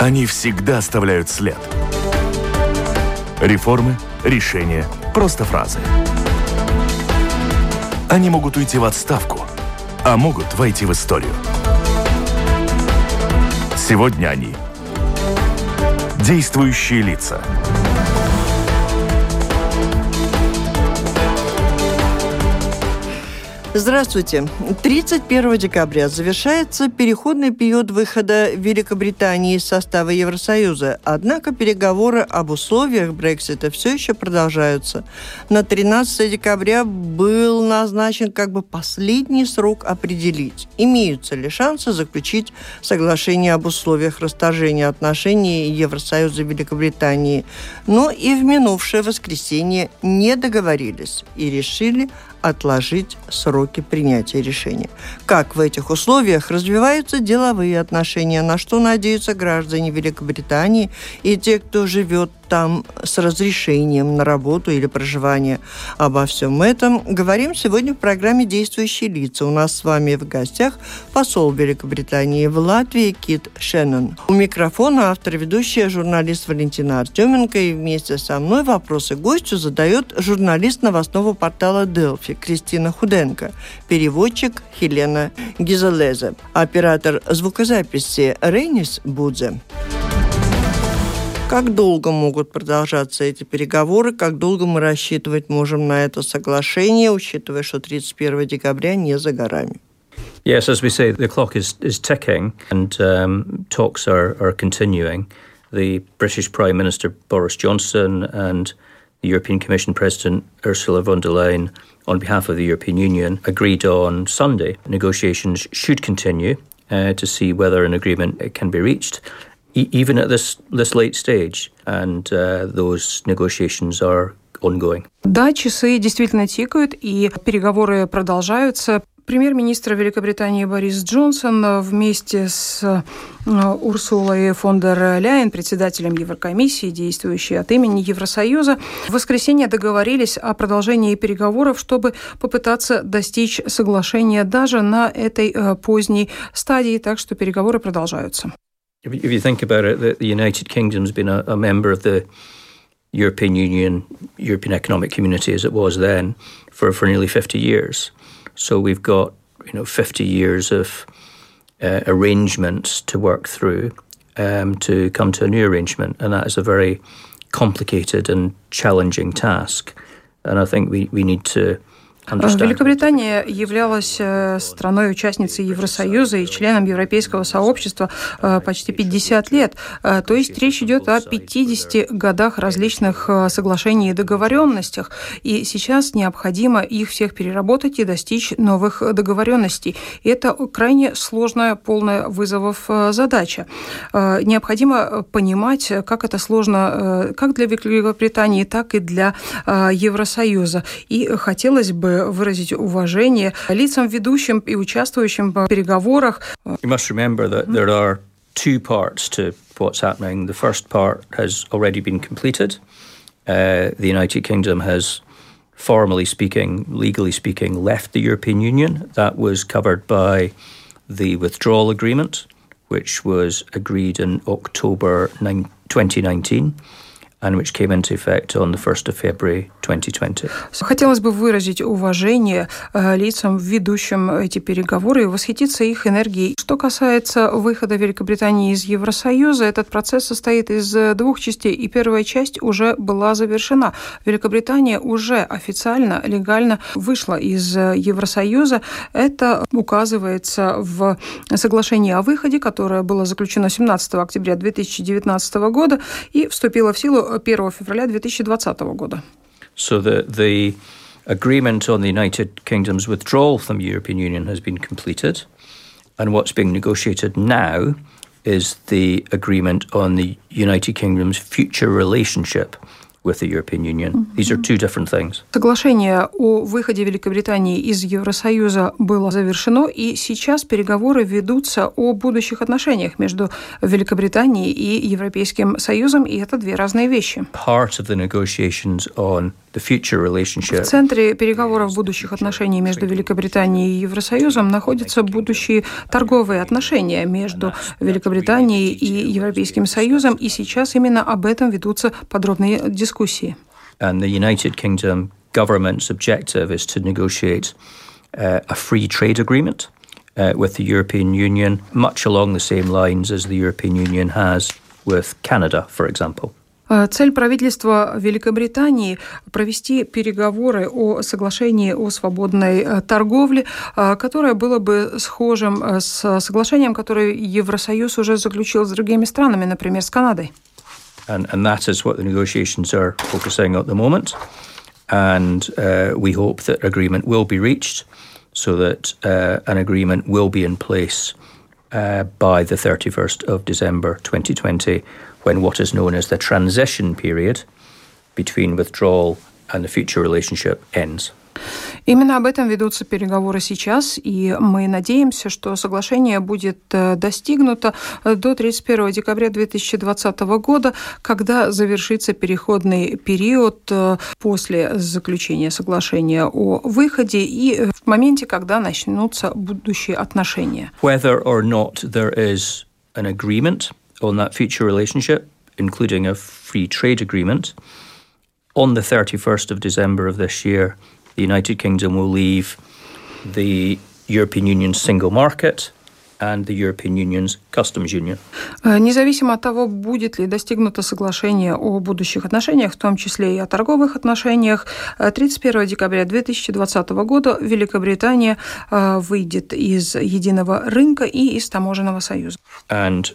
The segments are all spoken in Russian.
Они всегда оставляют след. Реформы, решения, просто фразы. Они могут уйти в отставку, а могут войти в историю. Сегодня они – действующие лица. Здравствуйте. 31 декабря завершается переходный период выхода Великобритании из состава Евросоюза. Однако переговоры об условиях Брексита все еще продолжаются. На 13 декабря был назначен последний срок определить, имеются ли шансы заключить соглашение об условиях расторжения отношений Евросоюза и Великобритании. Но и в минувшее воскресенье не договорились и решили отложить сроки принятия решения. Как в этих условиях развиваются деловые отношения, на что надеются граждане Великобритании и те, кто живет там с разрешением на работу или проживание. Обо всем этом говорим сегодня в программе «Действующие лица». У нас с вами в гостях посол Великобритании в Латвии Кит Шеннон. У микрофона автор, ведущая, журналист Валентина Артеменко. И вместе со мной вопросы гостю задает журналист новостного портала «Делфи» Кристина Худенко, переводчик Хелена Гизелезе, оператор звукозаписи Рейнис Будзе. Как долго могут продолжаться эти переговоры? Как долго мы рассчитывать можем на это соглашение, учитывая, что 31 декабря не за горами? Yes, as we say, the clock is ticking and talks are continuing. The British Prime Minister Boris Johnson and the European Commission President Ursula von der Leyen, on behalf of the European Union, agreed on Sunday negotiations should continue to see whether an agreement can be reached, even at this late stage, and those negotiations are ongoing. Да, часы действительно тикают, и переговоры продолжаются. Премьер-министр Великобритании Борис Джонсон вместе с Урсулой фон дер Ляйен, председателем Еврокомиссии, действующей от имени Евросоюза, в воскресенье договорились о продолжении переговоров, чтобы попытаться достичь соглашения даже на этой поздней стадии, так что переговоры продолжаются. If you think about it, the United Kingdom's been a member of the European Union, European Economic Community as it was then, for nearly 50 years. So we've got 50 years of arrangements to work through to come to a new arrangement, and that is a very complicated and challenging task. And I think we need to Великобритания являлась страной-участницей Евросоюза и членом Европейского сообщества почти 50 лет. То есть речь идет о 50 годах различных соглашений и договоренностях. И сейчас необходимо их всех переработать и достичь новых договоренностей. И это крайне сложная, полная вызовов задача. Необходимо понимать, как это сложно как для Великобритании, так и для Евросоюза. И хотелось бы выразить уважение лицам, ведущим и участвующим в переговорах. You must remember that there are two parts to what's happening. The first part has already been completed. The United Kingdom has, formally speaking, legally speaking, left the European Union. That was covered by the withdrawal agreement, which was agreed in October 2019. And which came into effect on the 1st of February 2020. Хотелось бы выразить уважение лицам, ведущим эти переговоры, и восхититься их энергией. Что касается выхода Великобритании из Евросоюза, этот процесс состоит из двух частей, и первая часть уже была завершена. Великобритания уже официально, легально вышла из Евросоюза. Это указывается в соглашении о выходе, которое было заключено 17 октября 2019 года и вступило в силу 1 февраля 2020 года. So the agreement on the United Kingdom's withdrawal from the European Union has been completed, and what's being negotiated now is the agreement on the United Kingdom's future relationship with the European Union. These are two different things. Соглашение о выходе Великобритании из Евросоюза было завершено, и сейчас переговоры ведутся о будущих отношениях между Великобританией и Европейским Союзом, и это две разные вещи. Part of the negotiations on В центре переговоров будущих отношений между Великобританией и Евросоюзом находятся будущие торговые отношения между Великобританией и Европейским Союзом, и сейчас именно об этом ведутся подробные дискуссии. And the United Kingdom government's objective is to negotiate a free trade agreement with the European Union, much along the same lines as the European Union has with Canada, for example. Цель правительства Великобритании – провести переговоры о соглашении о свободной торговле, которое было бы схожим с соглашением, которое Евросоюз уже заключил с другими странами, например, с Канадой. And that is what the negotiations are focusing on at the moment. And we hope that agreement will be reached so that an agreement will be in place by the 31st of December 2020, when what is known as the transition period between withdrawal and the future relationship ends. Именно об этом ведутся переговоры сейчас, и мы надеемся, что соглашение будет достигнуто до 31 декабря 2020 года, когда завершится переходный период после заключения соглашения о выходе и в моменте, когда начнутся будущие отношения. Whether or not there is an agreement on that future relationship, including a free trade agreement, on the 31st of December of this year, the United Kingdom will leave the European Union's single market and the European Union's customs union. Независимо от того, будет ли достигнуто соглашение о будущих отношениях, в том числе и о торговых отношениях, 31 декабря 2020 года Великобритания выйдет из единого рынка и из таможенного союза. And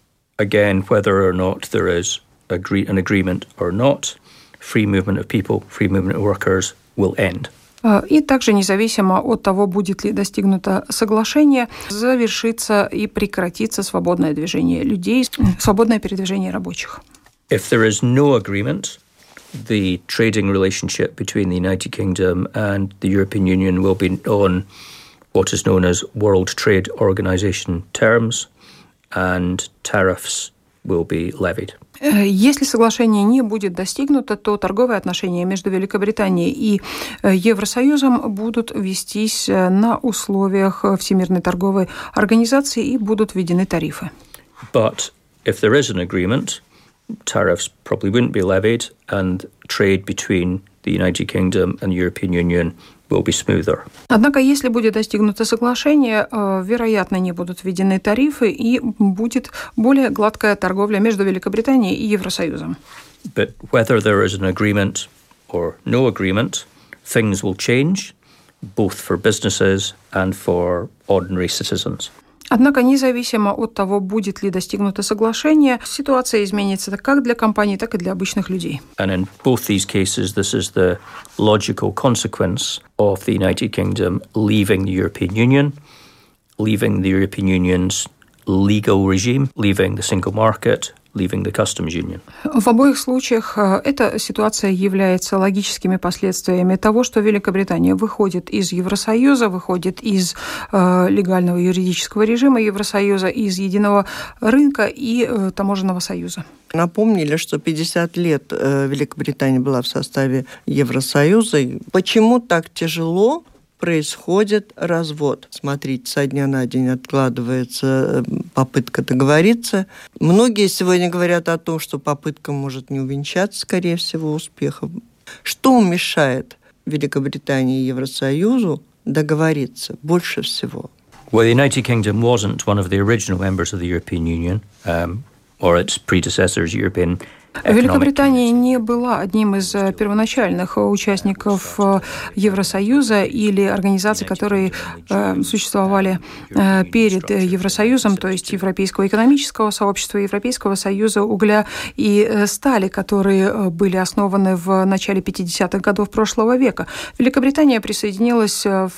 again, whether or not there is an agreement or not, free movement of people, free movement of workers will end. И также, независимо от того, будет ли достигнуто соглашение, завершится и прекратится свободное движение людей, свободное передвижение рабочих. If there is no agreement, the trading relationship between the United Kingdom and the European Union will be on what is known as World Trade Organization terms, and tariffs will be levied. Если соглашение не будет достигнуто, то торговые отношения между Великобританией и Евросоюзом будут вестись на условиях Всемирной торговой организации и будут введены тарифы. But if there is an agreement, tariffs probably wouldn't be levied, and trade between the United Kingdom and the European Union will be smoother. Однако, если будет достигнуто соглашение, вероятно, не будут введены тарифы и будет более гладкая торговля между Великобританией и Евросоюзом. But whether there is an agreement or no agreement, things will change, both for businesses and for ordinary citizens. Однако, независимо от того, будет ли достигнуто соглашение, ситуация изменится как для компаний, так и для обычных людей. And in both these cases, this is the logical consequence of the United Kingdom leaving the European Union, leaving the European Union's legal regime, leaving the single market, leaving the customs union. В обоих случаях эта ситуация является логическими последствиями того, что Великобритания выходит из Евросоюза, выходит из легального юридического режима Евросоюза, из единого рынка и таможенного союза. Напомнили, что 50 лет Великобритания была в составе Евросоюза. Почему так тяжело происходит развод? Смотрите, со дня на день откладывается попытка договориться. Многие сегодня говорят о том, что попытка может не увенчаться, скорее всего, успехом. Что мешает Великобритании и Евросоюзу договориться больше всего? Well, the United Kingdom wasn't one of the original members of the European Union, or its predecessors, European. Великобритания не была одним из первоначальных участников Евросоюза или организаций, которые существовали перед Евросоюзом, то есть Европейского экономического сообщества, Европейского союза угля и стали, которые были основаны в начале 50-х годов прошлого века. Великобритания присоединилась в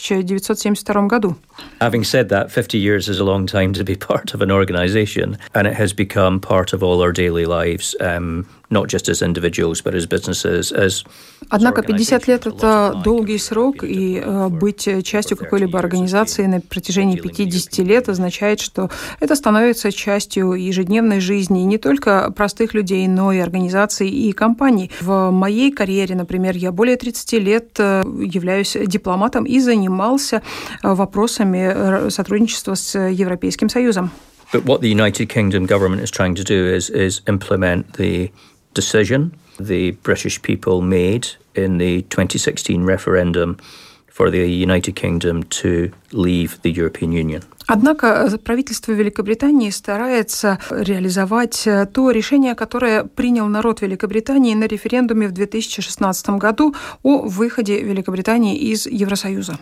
1972 году. Having said that, 50 years is a long time to be part of an organization, and it has become part of all our daily lives not just as individuals, but as businesses, as... Однако 50 лет – это долгий срок, и быть частью какой-либо организации на протяжении 50 лет означает, что это становится частью ежедневной жизни не только простых людей, но и организаций и компаний. В моей карьере, например, я более 30 лет являюсь дипломатом и занимался вопросами сотрудничества с Европейским Союзом. But what the United Kingdom government is trying to do is implement the decision the British people made in the 2016 referendum for the United Kingdom to leave the European Union. Однако правительство Великобритании старается реализовать то решение, которое принял народ Великобритании на референдуме в 2016 году о выходе Великобритании из Евросоюза.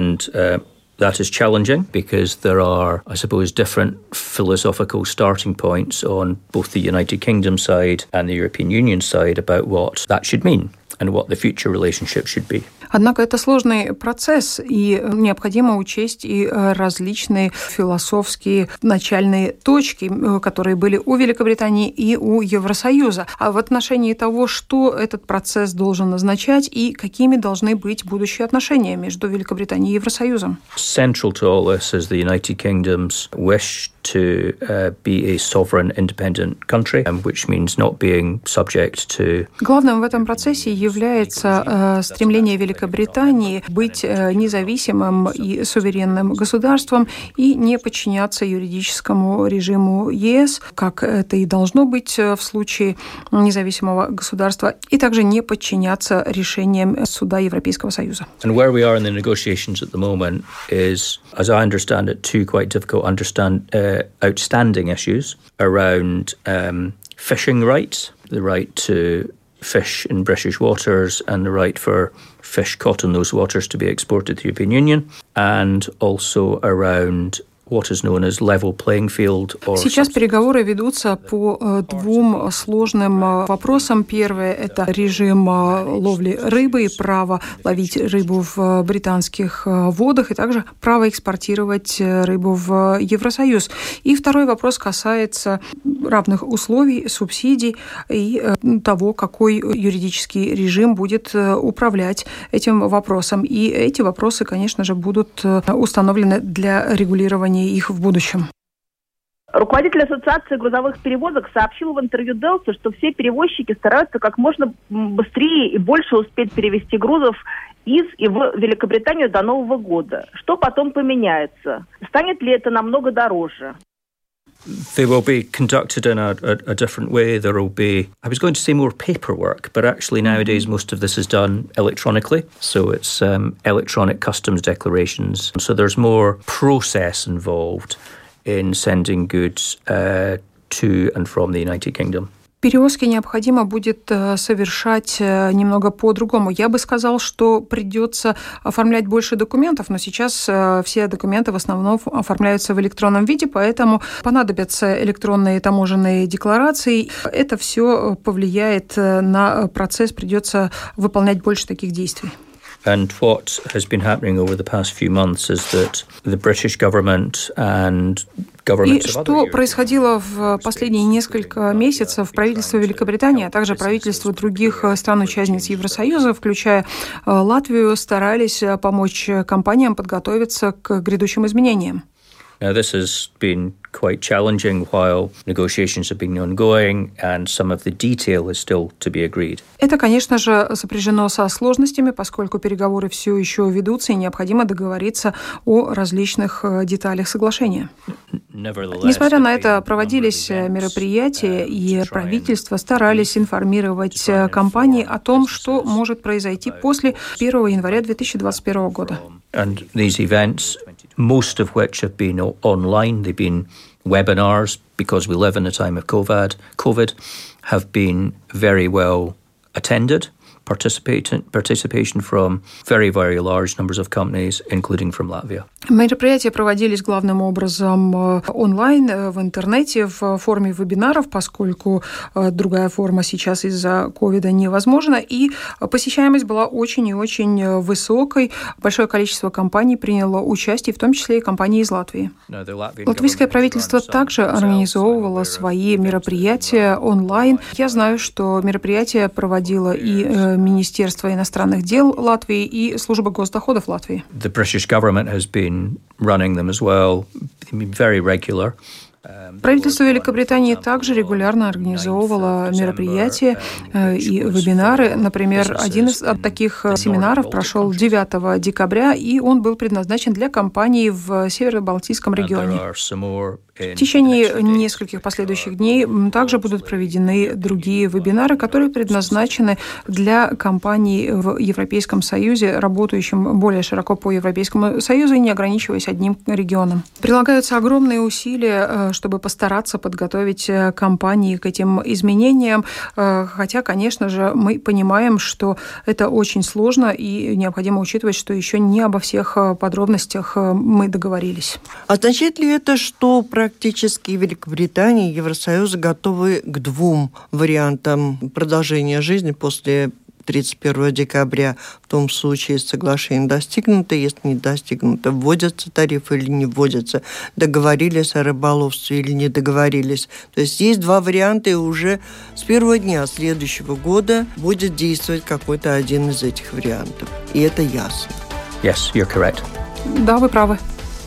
That is challenging because there are, I suppose, different philosophical starting points on both the United Kingdom side and the European Union side about what that should mean and what the future relationship should be. Однако это сложный процесс, и необходимо учесть и различные философские начальные точки, которые были у Великобритании и у Евросоюза. А в отношении того, что этот процесс должен означать и какими должны быть будущие отношения между Великобританией и Евросоюзом. Central to all this is the United Kingdom's wish to be a sovereign, independent country, which means not being subject to... Главным в этом процессе является стремление Великобритании быть независимым и суверенным государством и не подчиняться юридическому режиму ЕС, как это и должно быть в случае независимого государства, и также не подчиняться решениям Суда Европейского Союза. And where we are in the negotiations at the moment is, as I understand it, two quite difficult outstanding issues around fishing rights, the right to fish in British waters and the right for fish caught in those waters to be exported to the European Union, and also around what is known as level playing field. Сейчас переговоры ведутся по двум сложным вопросам. Первое – это режим ловли рыбы и право ловить рыбу в британских водах, и также право экспортировать рыбу в Евросоюз. И второй вопрос касается равных условий, субсидий и того, какой юридический режим будет управлять этим вопросом. И эти вопросы, конечно же, будут установлены для регулирования их в будущем. Руководитель Ассоциации грузовых перевозок сообщил в интервью Делсу, что все перевозчики стараются как можно быстрее и больше успеть перевезти грузов из и в Великобританию до Нового года. Что потом поменяется? Станет ли это намного дороже? They will be conducted in a different way. There will be, I was going to say more paperwork, but actually nowadays most of this is done electronically. So it's electronic customs declarations. So there's more process involved in sending goods to and from the United Kingdom. Перевозки необходимо будет совершать немного по-другому. Я бы сказал, что придется оформлять больше документов, но сейчас все документы в основном оформляются в электронном виде, поэтому понадобятся электронные таможенные декларации. Это все повлияет на процесс, придется выполнять больше таких действий. And what has been happening over the past few months is that the British government and И что происходило в последние несколько месяцев, правительство Великобритании, а также правительство других стран-участниц Евросоюза, включая Латвию, старались помочь компаниям подготовиться к грядущим изменениям. Now, this has been quite challenging while negotiations have been ongoing, and some of the detail is still to be agreed. Это, конечно же, сопряжено со сложностями, поскольку переговоры все еще ведутся, и необходимо договориться о различных деталях соглашения. Несмотря на это, проводились мероприятия, и правительства старались информировать компании о том, что может произойти после 1 января 2021 года. And these events, most of which have been online, they've been webinars, because we live in a time of COVID, have been very well attended participation from very, very large numbers of companies, including from Latvia. Мероприятия проводились главным образом онлайн, в интернете, в форме вебинаров, поскольку другая форма сейчас из-за ковида невозможна, и посещаемость была очень и очень высокой. Большое количество компаний приняло участие, в том числе и компании из Латвии. Латвийское правительство также организовывало свои мероприятия онлайн. Я знаю, что мероприятия проводило и Министерство иностранных дел Латвии, и Служба госдоходов Латвии. The British government has been running them as well, very regular. Правительство Великобритании также регулярно организовывало мероприятия и вебинары. Например, один из таких семинаров прошел 9 декабря, и он был предназначен для компаний в Северо-Балтийском регионе. В течение нескольких последующих дней также будут проведены другие вебинары, которые предназначены для компаний в Европейском Союзе, работающим более широко по Европейскому Союзу и не ограничиваясь одним регионом. Прилагаются огромные усилия, чтобы постараться подготовить компании к этим изменениям, хотя, конечно же, мы понимаем, что это очень сложно и необходимо учитывать, что еще не обо всех подробностях мы договорились. Означает ли это, что практически Великобритания и Евросоюз готовы к двум вариантам продолжения жизни после 31 декабря, в том случае соглашение достигнуто, если не достигнуто, вводятся тарифы или не вводятся, договорились о рыболовстве или не договорились. То есть есть два варианта, и уже с первого дня следующего года будет действовать какой-то один из этих вариантов. И это ясно. Yes, you're correct. Да, вы правы.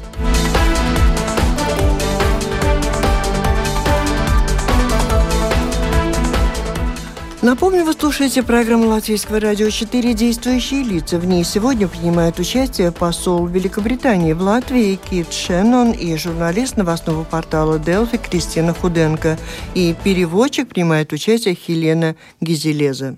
Напомню, вы слушаете программу Латвийского радио 4 «Действующие лица». В ней сегодня принимают участие посол Великобритании в Латвии Кит Шеннон и журналист новостного портала Делфи Кристина Худенко. И переводчик принимает участие Хелена Гизелеза.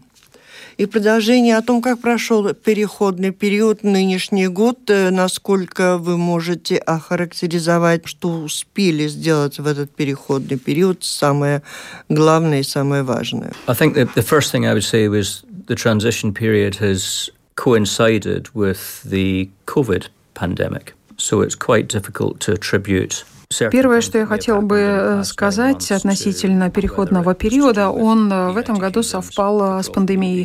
И продолжение о том, как прошел переходный период, нынешний год, насколько вы можете охарактеризовать, что успели сделать в этот переходный период, самое главное и самое важное. I think the first thing I would say was the transition period has coincided with the COVID pandemic, so it's quite difficult to attribute. Первое, что я хотела бы сказать относительно переходного периода, он в этом году совпал с пандемией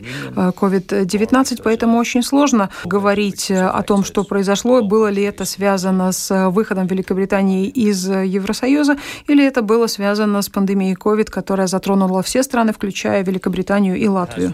COVID-19, поэтому очень сложно говорить о том, что произошло, было ли это связано с выходом Великобритании из Евросоюза, или это было связано с пандемией COVID, которая затронула все страны, включая Великобританию и Латвию.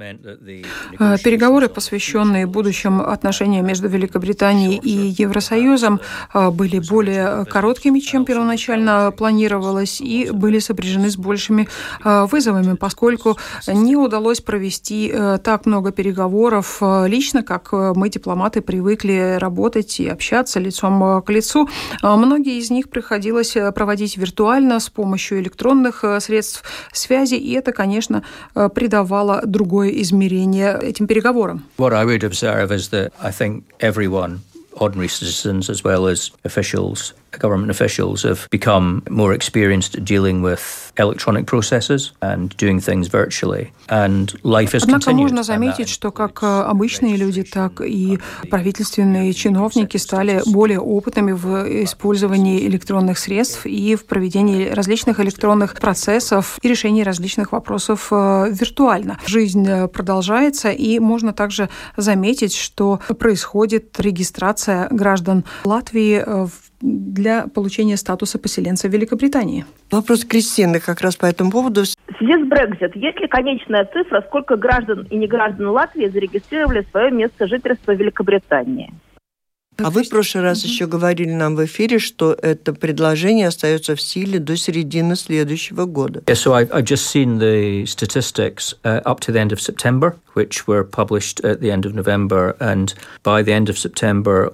Переговоры, посвященные будущим отношениям между Великобританией и Евросоюзом, были более короткими, чем первоначально планировалось, и были сопряжены с большими вызовами, поскольку не удалось провести так много переговоров лично, как мы, дипломаты, привыкли работать и общаться лицом к лицу. Многие из них приходилось проводить виртуально с помощью электронных средств связи, и это, конечно, придавало другое измерение этим переговорам. What I would observe is that I think everyone, ordinary citizens as well as officials, government officials, have become more experienced at dealing with electronic processes and doing things virtually. And life has continued. Однако можно заметить, что как обычные люди, так и правительственные чиновники стали более опытными в использовании электронных средств и в проведении различных электронных процессов и решении различных вопросов виртуально. Жизнь продолжается, и можно также заметить, что происходит регистрация граждан Латвии для получения статуса поселенца в Великобритании. Вопрос Кристины как раз по этому поводу. В связи с Brexit, есть ли конечная цифра, сколько граждан и неграждан Латвии зарегистрировали свое место жительства в Великобритании? А вы в прошлый раз еще говорили нам в эфире, что это предложение остается в силе до середины следующего года. Yeah, so I've just seen the statistics up to the end of September, which were published at the end of November, and by the end of September,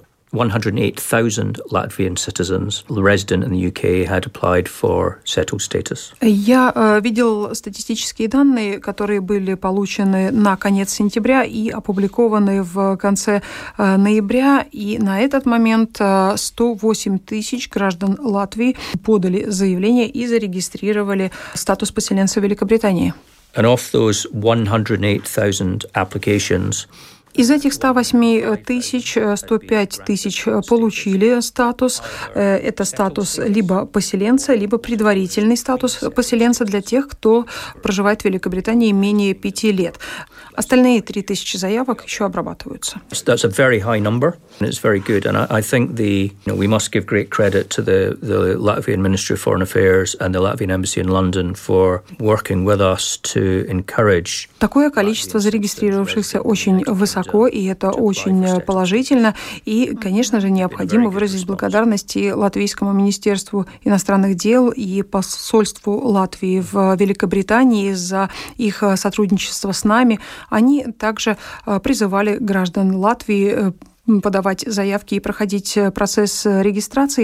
108,000 Latvian citizens resident in the UK had applied for settled status. Я видел статистические данные, которые были получены на конец сентября и опубликованы в конце ноября. И на этот момент 108 тысяч граждан Латвии подали заявление и зарегистрировали статус поселенца в Великобритании. And of those 108,000 applications, из этих 108 тысяч 105 тысяч получили статус. Это статус либо поселенца, либо предварительный статус поселенца для тех, кто проживает в Великобритании менее 5 лет. Остальные 3000 заявок еще обрабатываются. That's a very high number, and it's very good. And I think we must give great credit to the Latvian Ministry of Foreign Affairs and the Latvian Embassy in London for working with us to encourage. Такое количество зарегистрировавшихся очень высоко, и это очень положительно. И, конечно же, необходимо выразить благодарность и Латвийскому министерству иностранных дел, и посольству Латвии в Великобритании за их сотрудничество с нами. Они также призывали граждан Латвии подавать заявки и проходить процесс регистрации.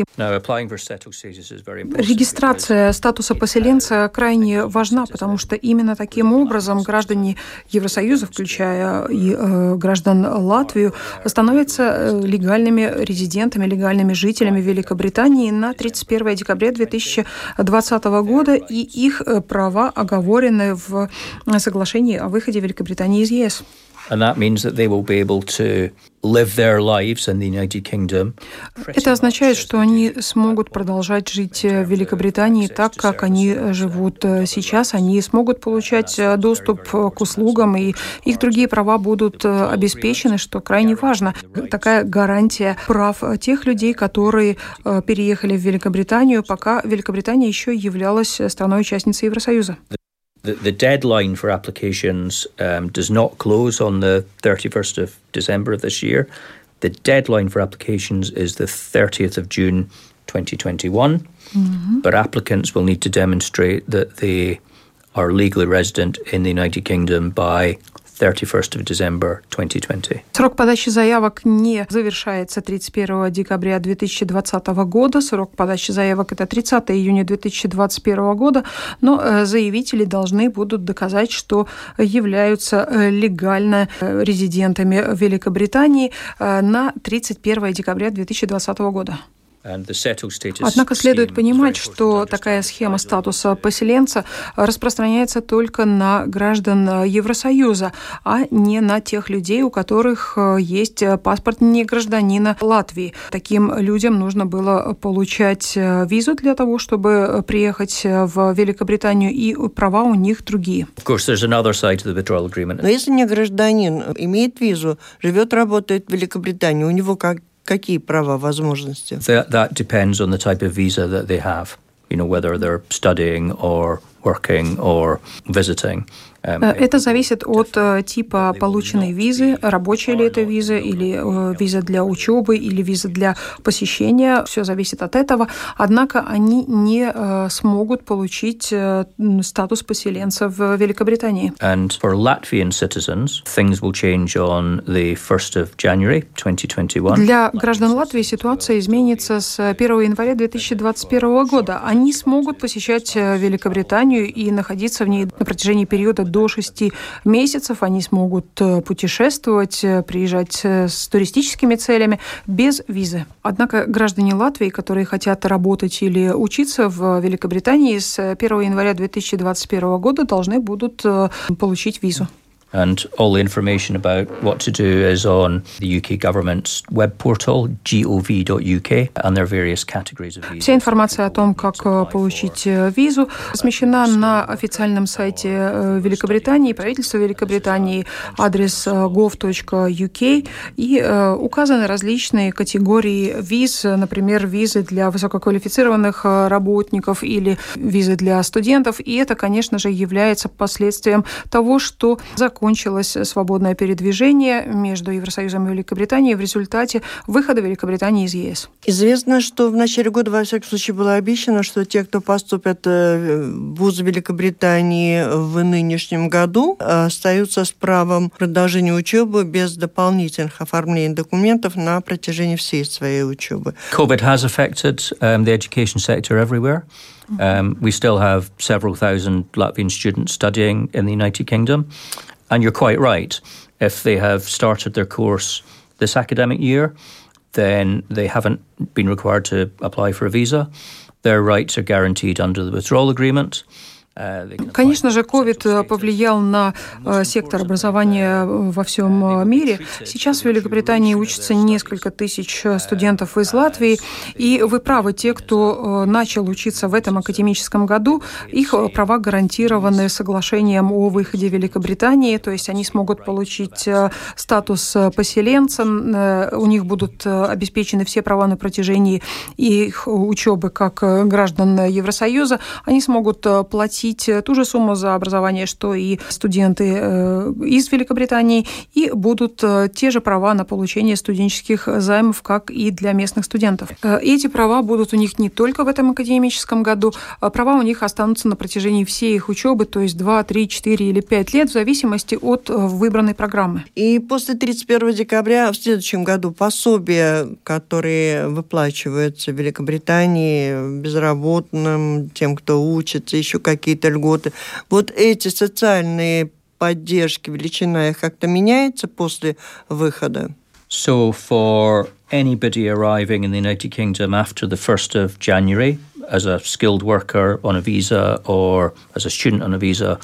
Регистрация статуса поселенца крайне важна, потому что именно таким образом граждане Евросоюза, включая и граждан Латвии, становятся легальными резидентами, легальными жителями Великобритании на 31 декабря 2020 года, и их права оговорены в соглашении о выходе Великобритании из ЕС. And that means that they will be able to live their lives in the United Kingdom. Это означает, что они смогут продолжать жить в Великобритании так, как они живут сейчас. Они смогут получать доступ к услугам, и их другие права будут обеспечены, что крайне важно. Такая гарантия прав тех людей, которые переехали в Великобританию, пока Великобритания еще являлась страной-участницей Евросоюза. The deadline for applications does not close on the 31st of December of this year. The deadline for applications is the 30th of June 2021. But applicants will need to demonstrate that they are legally resident in the United Kingdom by 31st of December 2020. Срок подачи заявок не завершается 31 декабря 2020 года. Срок подачи заявок – это 30 июня 2021 года. Но заявители должны будут доказать, что являются легально резидентами Великобритании на 31 декабря 2020 года. Однако следует понимать, что такая схема статуса поселенца распространяется только на граждан Евросоюза, а не на тех людей, у которых есть паспорт не гражданина Латвии. Таким людям нужно было получать визу для того, чтобы приехать в Великобританию, и права у них другие. Но если не гражданин имеет визу, живет, работает в Великобритании, у него какие права, возможности? That depends on the type of visa that they have. Whether they're studying or working or visiting. Это зависит от типа полученной визы, рабочая ли это виза, или виза для учебы, или виза для посещения. Все зависит от этого. Однако они не смогут получить статус поселенца в Великобритании. And for Latvian citizens, things will change on the 1st of January 2021. Для граждан Латвии ситуация изменится с 1 января 2021 года. Они смогут посещать Великобританию и находиться в ней на протяжении периода до 6 месяцев. Они смогут путешествовать, приезжать с туристическими целями без визы. Однако граждане Латвии, которые хотят работать или учиться в Великобритании, с 1 января 2021 года должны будут получить визу. And all the information about what to do is on the UK government's web portal, gov.uk, and there are various categories of visas. Вся информация о том, как получить визу, размещена на официальном сайте Великобритании, правительства Великобритании, адрес gov.uk, и указаны различные категории виз, например, визы для высококвалифицированных работников или визы для студентов, и это, конечно же, является последствием того, что закончилось свободное передвижение между Евросоюзом и Великобританией в результате выхода Великобритании из ЕС. Известно, что в начале года, во всяком случае, было обещано, что те, кто поступят в вузы Великобритании в нынешнем году, остаются с правом продолжения учебы без дополнительных оформлений документов на протяжении всей своей учебы. COVID has affected the education sector everywhere. We still have several thousand Latvian students studying in the United Kingdom. And you're quite right. If they have started their course this academic year, then they haven't been required to apply for a visa. Their rights are guaranteed under the withdrawal agreement. Конечно же, COVID повлиял на сектор образования во всем мире. Сейчас в Великобритании учатся несколько тысяч студентов из Латвии. И вы правы, те, кто начал учиться в этом академическом году, их права гарантированы соглашением о выходе Великобритании. То есть они смогут получить статус поселенца, у них будут обеспечены все права на протяжении их учебы как граждан Евросоюза. Они смогут платить ту же сумму за образование, что и студенты из Великобритании, и будут те же права на получение студенческих займов, как и для местных студентов. Эти права будут у них не только в этом академическом году, права у них останутся на протяжении всей их учебы, то есть 2, 3, 4 или 5 лет, в зависимости от выбранной программы. И после 31 декабря в следующем году пособия, которые выплачиваются в Великобритании безработным, тем, кто учится, еще какие-то льготы. Вот эти социальные поддержки, величина их как-то меняется после выхода? So for anybody arriving in the United Kingdom after the 1st of January as a skilled worker on a visa or as a student on a visa,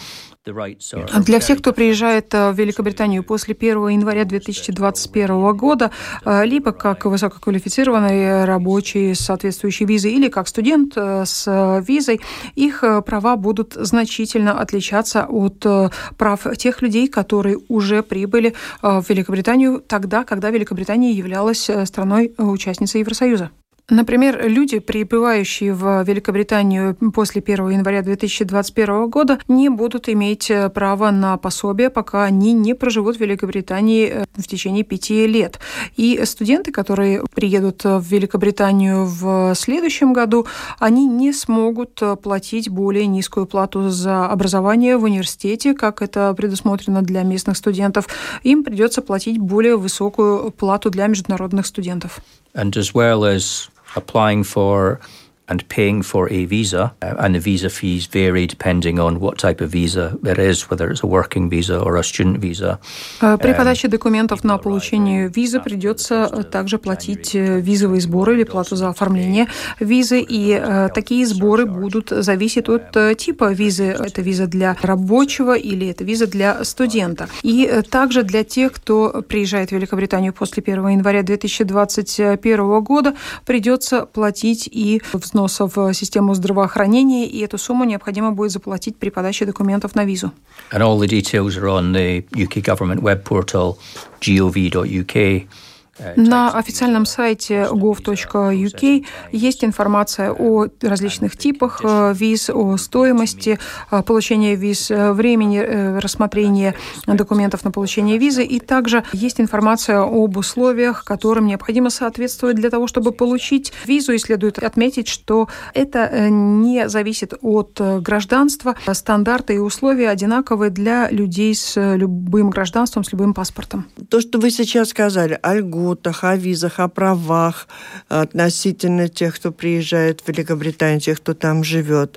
для всех, кто приезжает в Великобританию после 1 января 2021 года, либо как высококвалифицированный рабочий с соответствующей визой, или как студент с визой, их права будут значительно отличаться от прав тех людей, которые уже прибыли в Великобританию тогда, когда Великобритания являлась страной-участницей Евросоюза. Например, люди, прибывающие в Великобританию после 1 января 2021 года, не будут иметь права на пособие, пока они не проживут в Великобритании в течение 5 лет. И студенты, которые приедут в Великобританию в следующем году, они не смогут платить более низкую плату за образование в университете, как это предусмотрено для местных студентов. Им придется платить более высокую плату для международных студентов. And as well as applying for and paying for a visa, and the visa fees vary depending on what type of visa it is, whether it's a working visa or a student visa. При подаче документов на получение визы придется также платить визовые сборы или плату за оформление визы, и такие сборы будут зависеть от типа визы. Это виза для рабочего или это виза для студента. И также для тех, кто приезжает в Великобританию после 1 января 2021 года, придется платить и взносы в систему здравоохранения, и эту сумму необходимо будет заплатить при подаче документов на визу. And all the details are on the UK government web portal gov.uk. На официальном сайте gov.uk есть информация о различных типах виз, о стоимости получения виз, времени рассмотрения документов на получение визы, и также есть информация об условиях, которым необходимо соответствовать для того, чтобы получить визу. И следует отметить, что это не зависит от гражданства. Стандарты и условия одинаковые для людей с любым гражданством, с любым паспортом. То, что вы сейчас сказали, о льготах, о визах, о правах относительно тех, кто приезжает в Великобританию, тех, кто там живет,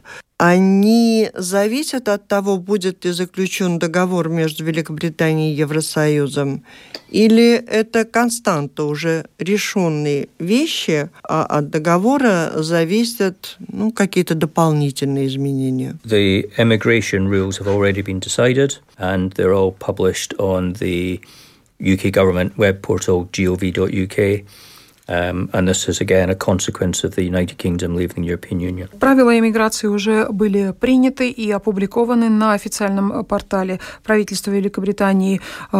они зависят от того, будет ли заключен договор между Великобританией и Евросоюзом, или это константа, уже решенные вещи, а от договора зависят какие-то дополнительные изменения? The immigration rules have already been decided, and they're all published on the UK government web portal gov.uk. And this is, again, a consequence of the United Kingdom leaving the European Union. Правила иммиграции уже были приняты и опубликованы на официальном портале правительства Великобритании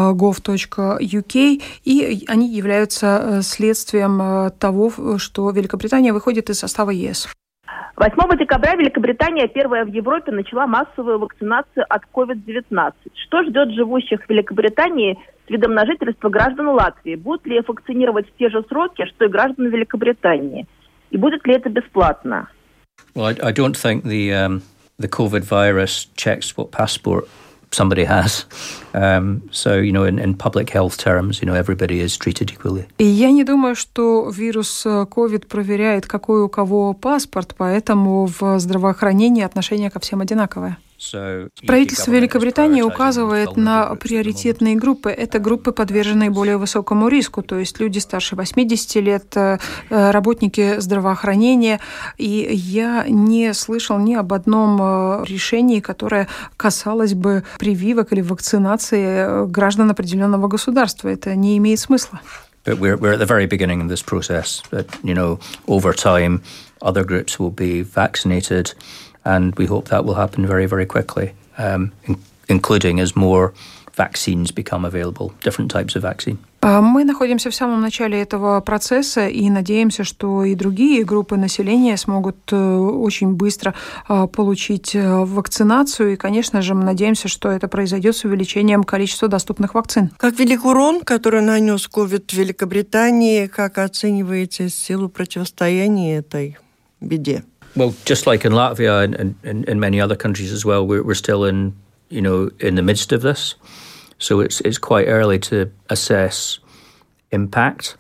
gov.uk, и они являются следствием того, что Великобритания выходит из состава ЕС. 8 декабря Великобритания первая в Европе начала массовую вакцинацию от COVID-19. Что ждет живущих в Великобритании с видом на жительство граждан Латвии? Будут ли их вакцинировать в те же сроки, что и граждан Великобритании? И будет ли это бесплатно? Well, I don't think the COVID virus checks what passport somebody has. So, in public health terms, everybody is treated equally. И я не думаю, что вирус COVID проверяет, какой у кого паспорт, поэтому в здравоохранении отношение ко всем одинаковое. Правительство Великобритании указывает на приоритетные группы. Это группы, подверженные более высокому риску, то есть люди старше 80 лет, работники здравоохранения. И я не слышал ни об одном решении, которое касалось бы прививок или вакцинации граждан определенного государства. Это не имеет смысла. But we're at the very beginning of this process. But, over time, other groups will be vaccinated, and we hope that will happen very, very quickly, including as more vaccines become available, different types of vaccine. Мы находимся в самом начале этого процесса и надеемся, что и другие группы населения смогут очень быстро получить вакцинацию. И, конечно же, мы надеемся, что это произойдет с увеличением количества доступных вакцин. Как велик урон, который нанес ковид в Великобритании? Как оцениваете силу противостояния этой беде? Well, just like in Latvia and in many other countries as well, we're still in the midst of this. So it's quite early to assess impact.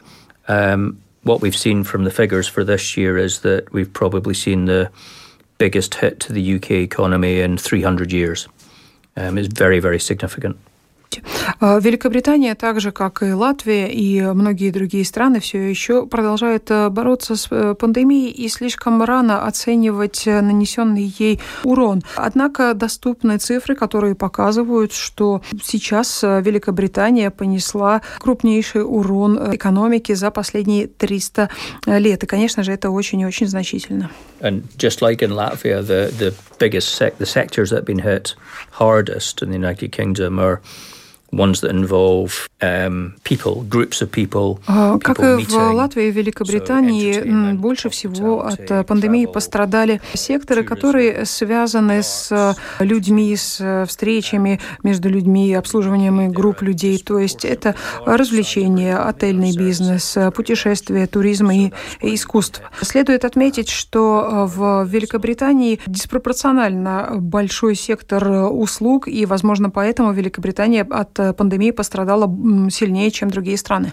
What we've seen from the figures for this year is that we've probably seen the biggest hit to the UK economy in 300 years. It's very, very significant. Великобритания, так же как и Латвия и многие другие страны, все еще продолжает бороться с пандемией и слишком рано оценивать нанесенный ей урон. Однако доступны цифры, которые показывают, что сейчас Великобритания понесла крупнейший урон экономике за последние 300 лет. И, конечно же, это очень и очень значительно. And just like in Latvia, the sectors that have been hit hardest in the United Kingdom are ones that involve people, groups of people. Как и в Латвии и Великобритании, больше всего от пандемии пострадали секторы, которые связаны с людьми, с встречами между людьми, обслуживанием групп людей. То есть это развлечения, отельный бизнес, путешествия, туризм и искусство. Следует отметить, что в Великобритании диспропорционально большой сектор услуг, и, возможно, поэтому Великобритания от пандемии пострадала сильнее, чем другие страны.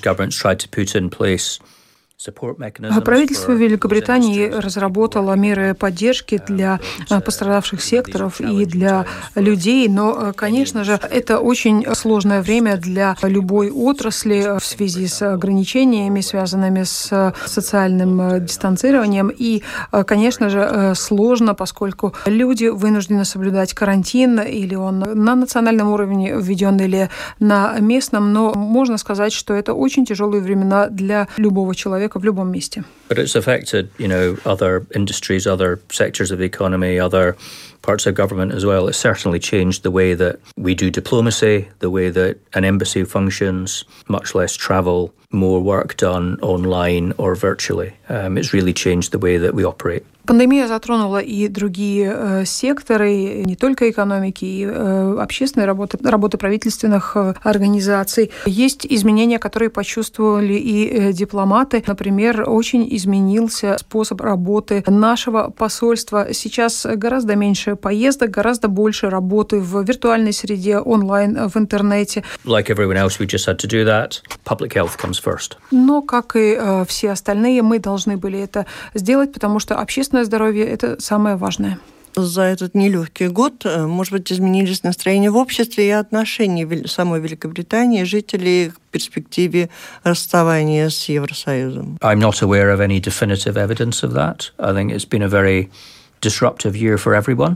Правительство Великобритании разработало меры поддержки для пострадавших секторов и для людей, но, конечно же, это очень сложное время для любой отрасли в связи с ограничениями, связанными с социальным дистанцированием. И, конечно же, сложно, поскольку люди вынуждены соблюдать карантин, или он на национальном уровне введен, или на местном, но можно сказать, что это очень тяжелые времена для любого человека в любом месте. But it's affected, other industries, other sectors of the economy, other parts of government as well. It's certainly changed the way that we do diplomacy, the way that an embassy functions, much less travel, more work done online or virtually. It's really changed the way that we operate. Пандемия затронула и другие секторы, не только экономики, и общественной работы правительственных организаций. Есть изменения, которые почувствовали и дипломаты. Например, очень изменился способ работы нашего посольства. Сейчас гораздо меньше поездок, гораздо больше работы в виртуальной среде, онлайн, в интернете. Like everyone else, we just had to do that. Public health comes first. Но, как и все остальные, мы должны были это сделать, потому что общественное здоровье – это самое важное. За этот нелегкий год, может быть, изменились настроения в обществе и отношения самой Великобритании, жителей к перспективе расставания с Евросоюзом? I'm not aware of any definitive evidence of that. I think it's been a very disruptive year for everyone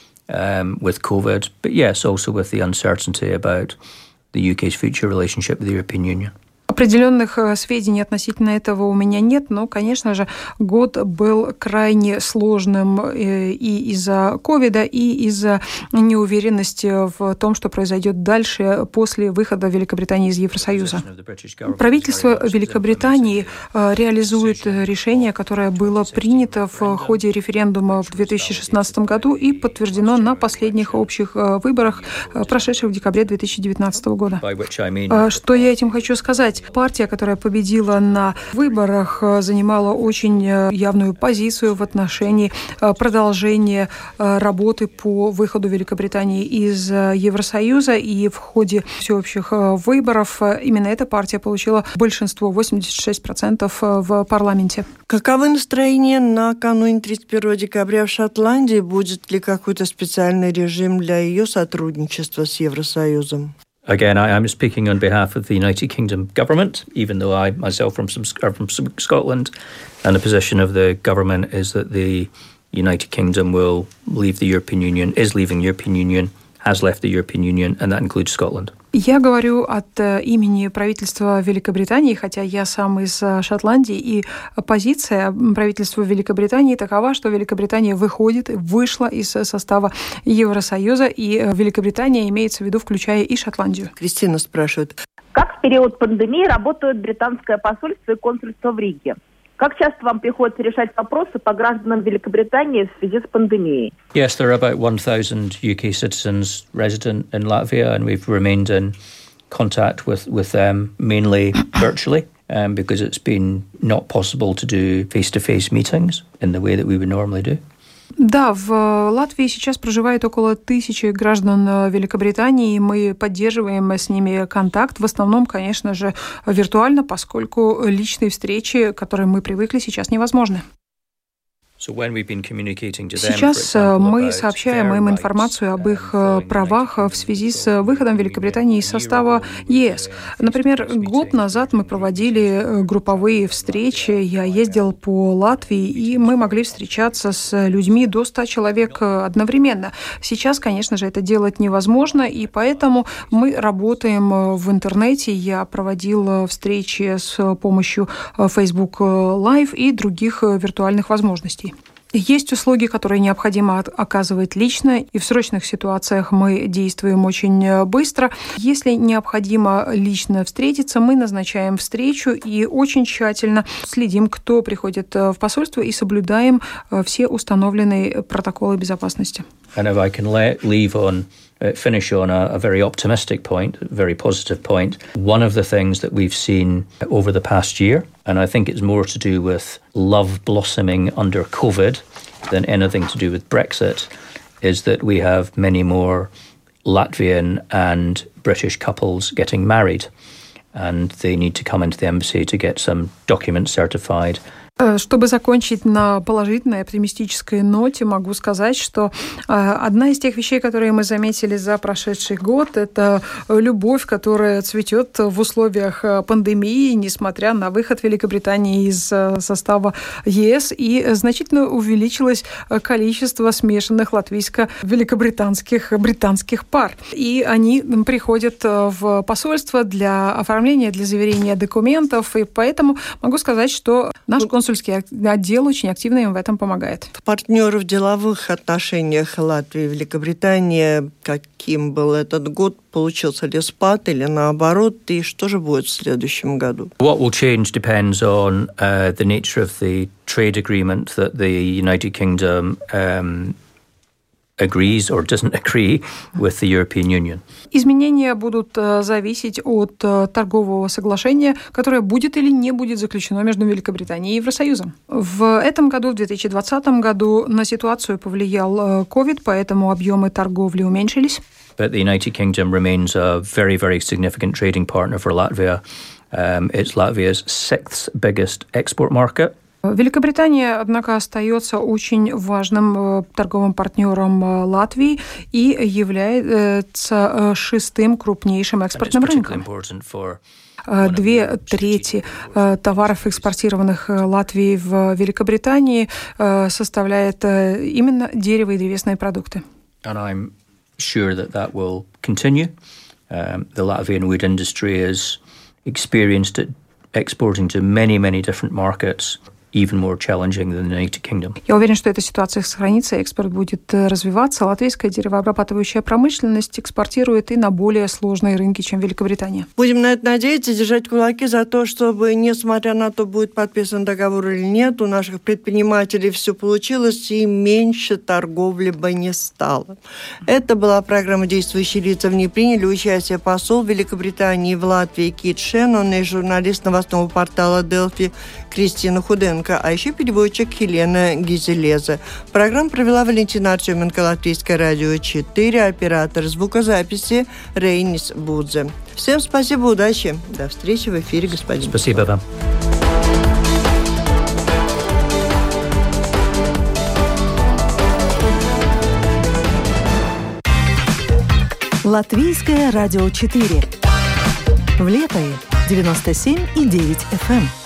with COVID, but yes, also with the uncertainty about the UK's future relationship with the European Union. Определенных сведений относительно этого у меня нет, но, конечно же, год был крайне сложным и из-за ковида, и из-за неуверенности в том, что произойдет дальше после выхода Великобритании из Евросоюза. Правительство Великобритании реализует решение, которое было принято в ходе референдума в 2016 году и подтверждено на последних общих выборах, прошедших в декабре 2019 года. Что я этим хочу сказать? Партия, которая победила на выборах, занимала очень явную позицию в отношении продолжения работы по выходу Великобритании из Евросоюза. И в ходе всеобщих выборов именно эта партия получила большинство, 86% в парламенте. Каковы настроения накануне 31 декабря в Шотландии? Будет ли какой-то специальный режим для ее сотрудничества с Евросоюзом? Again, I'm speaking on behalf of the United Kingdom government, even though I myself are from Scotland, and the position of the government is that the United Kingdom will leave the European Union, is leaving the European Union, has left the European Union, and that includes Scotland. Я говорю от имени правительства Великобритании, хотя я сам из Шотландии, и позиция правительства Великобритании такова, что Великобритания вышла из состава Евросоюза, и Великобритания имеется в виду, включая и Шотландию. Кристина спрашивает. Как в период пандемии работают британское посольство и консульство в Риге? Как часто вам приходится решать вопросы по гражданам Великобритании в связи с пандемией? Yes, there are about 1,000 UK citizens resident in Latvia, and we've remained in contact with them mainly virtually, because it's been not possible to do face-to-face meetings in the way that we would normally do. Да, в Латвии сейчас проживает около 1000 граждан Великобритании, и мы поддерживаем с ними контакт, в основном, конечно же, виртуально, поскольку личные встречи, к которым мы привыкли, сейчас невозможны. Сейчас мы сообщаем им информацию об их правах в связи с выходом Великобритании из состава ЕС. Например, год назад мы проводили групповые встречи, я ездил по Латвии, и мы могли встречаться с людьми до 100 человек одновременно. Сейчас, конечно же, это делать невозможно, и поэтому мы работаем в интернете. Я проводил встречи с помощью Facebook Live и других виртуальных возможностей. Есть услуги, которые необходимо оказывать лично, и в срочных ситуациях мы действуем очень быстро. Если необходимо лично встретиться, мы назначаем встречу и очень тщательно следим, кто приходит в посольство, и соблюдаем все установленные протоколы безопасности. And if I can finish on a very optimistic point, a very positive point. One of the things that we've seen over the past year, and I think it's more to do with love blossoming under COVID than anything to do with Brexit, is that we have many more Latvian and British couples getting married, and they need to come into the embassy to get some documents certified. Чтобы закончить на положительной, оптимистической ноте, могу сказать, что одна из тех вещей, которые мы заметили за прошедший год, это любовь, которая цветет в условиях пандемии, несмотря на выход Великобритании из состава ЕС, и значительно увеличилось количество смешанных латвийско-великобританских пар. И они приходят в посольство для оформления, для заверения документов, и поэтому могу сказать, что наш консульский отдел очень активно им в этом помогает. Партнеры в деловых отношениях Латвии и Великобритании, каким был этот год, получился ли спад или наоборот, и что же будет в следующем году? What will change depends on the nature of the trade agreement that the United Kingdom agrees or doesn't agree with the European Union. Изменения будут зависеть от торгового соглашения, которое будет или не будет заключено между Великобританией и Евросоюзом. В этом году, в 2020 году, на ситуацию повлиял COVID, поэтому объемы торговли уменьшились. But the United Kingdom remains a very, very significant trading partner for Latvia. It's Latvia's 6th biggest export market. Великобритания, однако, остается очень важным торговым партнером Латвии и является 6-м крупнейшим экспортным рынком. 2/3 товаров, экспортированных Латвией в Великобритании, составляет именно дерево- и древесные продукты. And I'm sure that will continue. The Latvian wood industry is experienced at exporting to many, many different markets. even more challenging than the United Kingdom. Я уверен, что эта ситуация сохранится, экспорт будет развиваться. Латвийская деревообрабатывающая промышленность экспортирует и на более сложные рынки, чем Великобритания. Будем на это надеяться, держать кулаки за то, чтобы, несмотря на то, будет подписан договор или нет, у наших предпринимателей все получилось и меньше торговли бы не стало. Это была программа «Действующие лица». В ней приняли участие посол Великобритании в Латвии Кит Шеннон и журналист новостного портала «Делфи» Кристина Худенко, а еще переводчик Елена Гизелеза. Программу провела Валентина Артеменко, Латвийское радио 4, оператор звукозаписи Рейнис Будзе. Всем спасибо, удачи. До встречи в эфире, господин. Спасибо вам. Латвийское радио 4. В Лепое 97,9 FM.